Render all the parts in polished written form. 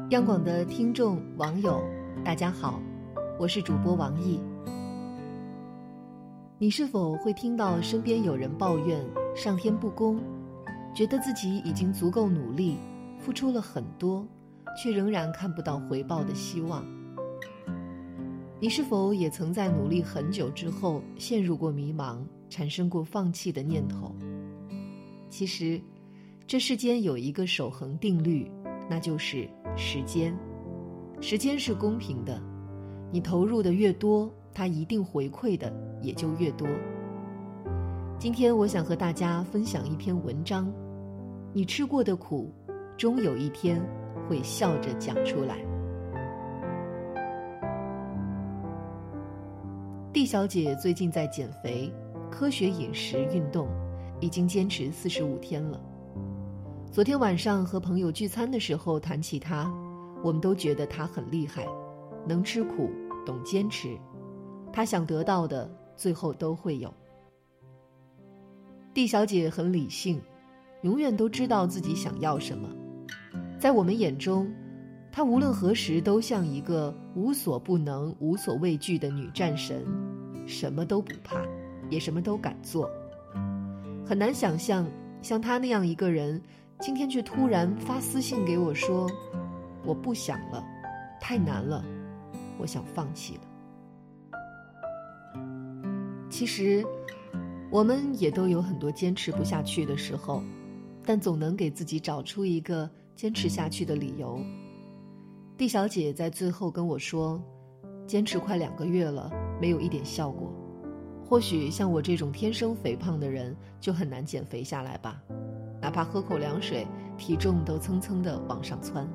央广的听众网友大家好，我是主播王毅。你是否会听到身边有人抱怨上天不公，觉得自己已经足够努力，付出了很多，却仍然看不到回报的希望？你是否也曾在努力很久之后陷入过迷茫，产生过放弃的念头？其实这世间有一个守恒定律，那就是时间。时间是公平的，你投入的越多，它一定回馈的也就越多。今天我想和大家分享一篇文章，你吃过的苦，终有一天会笑着讲出来。D 小姐最近在减肥，科学饮食运动，已经坚持45天了。昨天晚上和朋友聚餐的时候谈起她，我们都觉得她很厉害，能吃苦，懂坚持，她想得到的最后都会有。D 小姐很理性，永远都知道自己想要什么。在我们眼中，她无论何时都像一个无所不能、无所畏惧的女战神，什么都不怕，也什么都敢做。很难想象，像她那样一个人，今天却突然发私信给我说，我不想了，太难了，我想放弃了。其实我们也都有很多坚持不下去的时候，但总能给自己找出一个坚持下去的理由。D 小姐在最后跟我说，坚持快2个月了，没有一点效果。或许像我这种天生肥胖的人就很难减肥下来吧，哪怕喝口凉水，体重都蹭蹭地往上窜。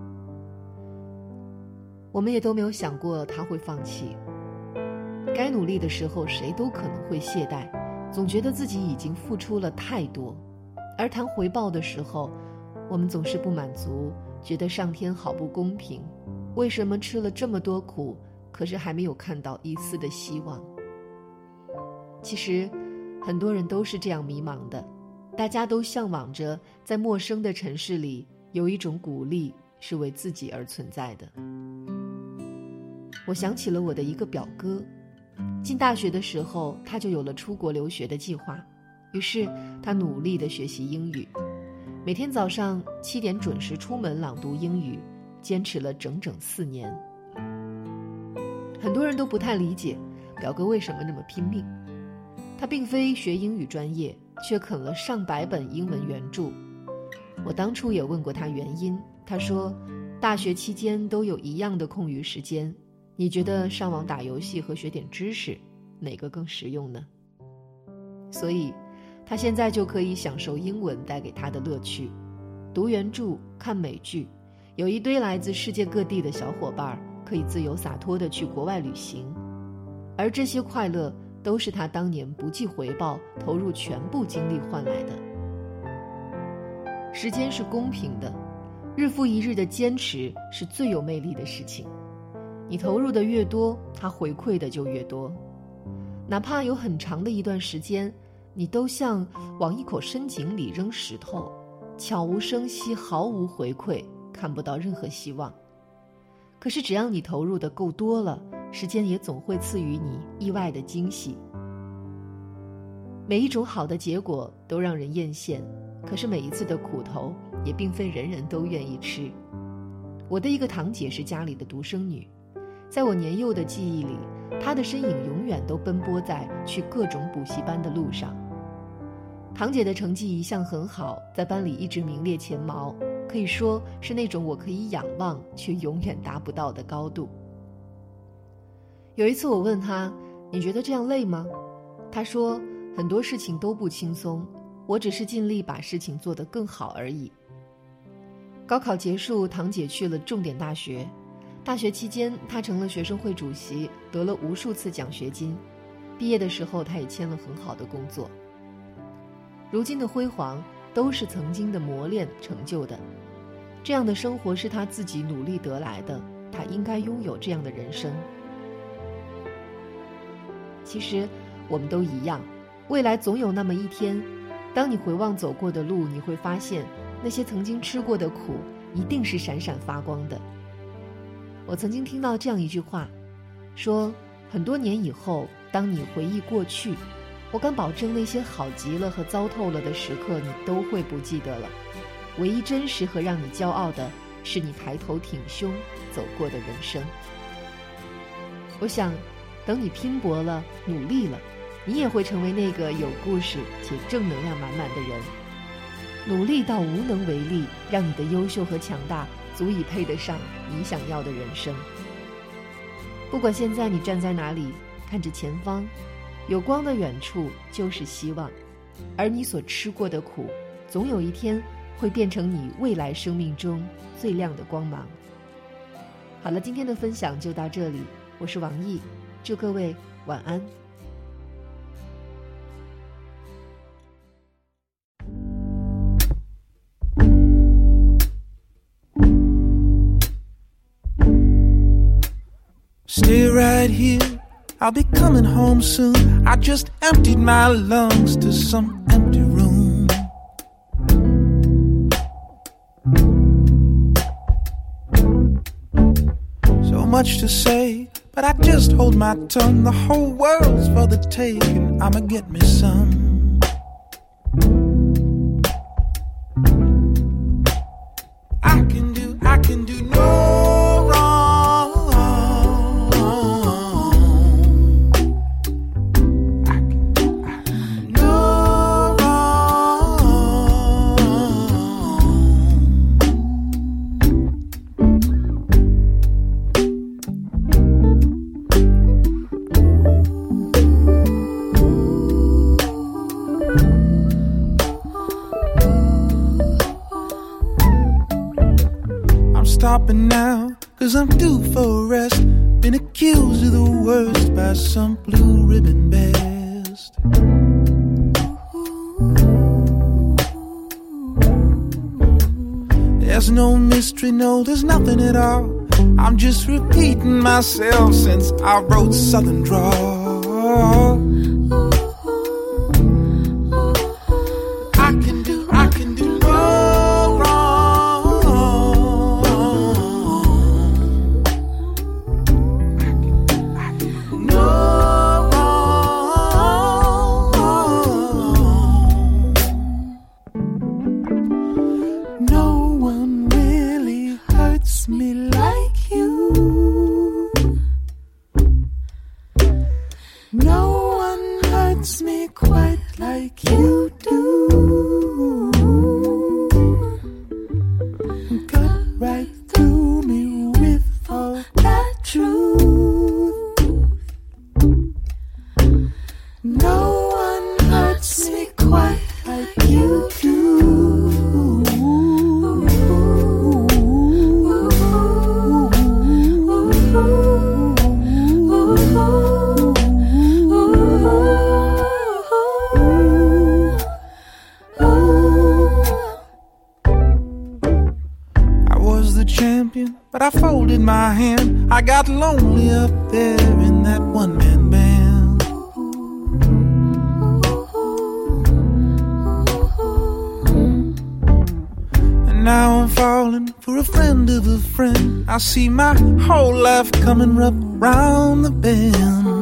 我们也都没有想过她会放弃。该努力的时候，谁都可能会懈怠，总觉得自己已经付出了太多。而谈回报的时候，我们总是不满足，觉得上天好不公平，为什么吃了这么多苦，可是还没有看到一丝的希望？其实很多人都是这样迷茫的，大家都向往着在陌生的城市里有一种鼓励是为自己而存在的。我想起了我的一个表哥，进大学的时候他就有了出国留学的计划，于是他努力地学习英语，每天早上7点准时出门朗读英语，坚持了整整4年。很多人都不太理解表哥为什么那么拼命。他并非学英语专业，却啃了上百本英文原著。我当初也问过他原因，他说大学期间都有一样的空余时间，你觉得上网打游戏和学点知识，哪个更实用呢？所以他现在就可以享受英文带给他的乐趣，读原著，看美剧，有一堆来自世界各地的小伙伴，可以自由洒脱地去国外旅行。而这些快乐都是他当年不计回报，投入全部精力换来的。时间是公平的，日复一日的坚持是最有魅力的事情。你投入的越多，它回馈的就越多。哪怕有很长的一段时间，你都像往一口深井里扔石头，悄无声息，毫无回馈，看不到任何希望。可是只要你投入的够多了，时间也总会赐予你意外的惊喜。每一种好的结果都让人艳羡，可是每一次的苦头也并非人人都愿意吃。我的一个堂姐是家里的独生女，在我年幼的记忆里，她的身影永远都奔波在去各种补习班的路上。堂姐的成绩一向很好，在班里一直名列前茅，可以说是那种我可以仰望却永远达不到的高度。有一次我问她，你觉得这样累吗？她说，很多事情都不轻松，我只是尽力把事情做得更好而已。高考结束，堂姐去了重点大学，大学期间她成了学生会主席，得了无数次奖学金，毕业的时候她也签了很好的工作。如今的辉煌都是曾经的磨练成就的，这样的生活是她自己努力得来的，她应该拥有这样的人生。其实我们都一样，未来总有那么一天，当你回望走过的路，你会发现那些曾经吃过的苦， 一定是闪闪发光的。我曾经听到这样一句话，说很多年以后，当你回忆过去，我敢保证那些好极了和糟透了的时刻你都会不记得了，唯一真实和让你骄傲的是你抬头挺胸走过的人生。我想等你拼搏了，努力了，你也会成为那个有故事且正能量满满的人，努力到无能为力，让你的优秀和强大足以配得上你想要的人生。不管现在你站在哪里，看着前方，有光的远处就是希望，而你所吃过的苦，总有一天会变成你未来生命中最亮的光芒。好了，今天的分享就到这里，我是王毅，祝各位晚安。 Stay right here, I'll be coming home soon. I just emptied my lungs to some empty room. So much to say, but I just hold my tongue. The whole world's for the taking, I'ma get me some. I can do no wrong. I can do no wrong. I'm stopping now, 'cause I'm due for rest. Been accused of the worst by some blue ribbon best. There's no mystery, no, there's nothing at all. I'm just repeating myself since I wrote Southern Drawl. I can do no wrong. I can do no wrong. No one really hurts me like you. No one hurts me quite like you do. Cut right through me with all that truth. No one hurts me quite like you do. I was the champion, but I folded my hand. I got lonely up there in that one-man band. And now I'm falling for a friend of a friend. I see my whole life coming up round the bend.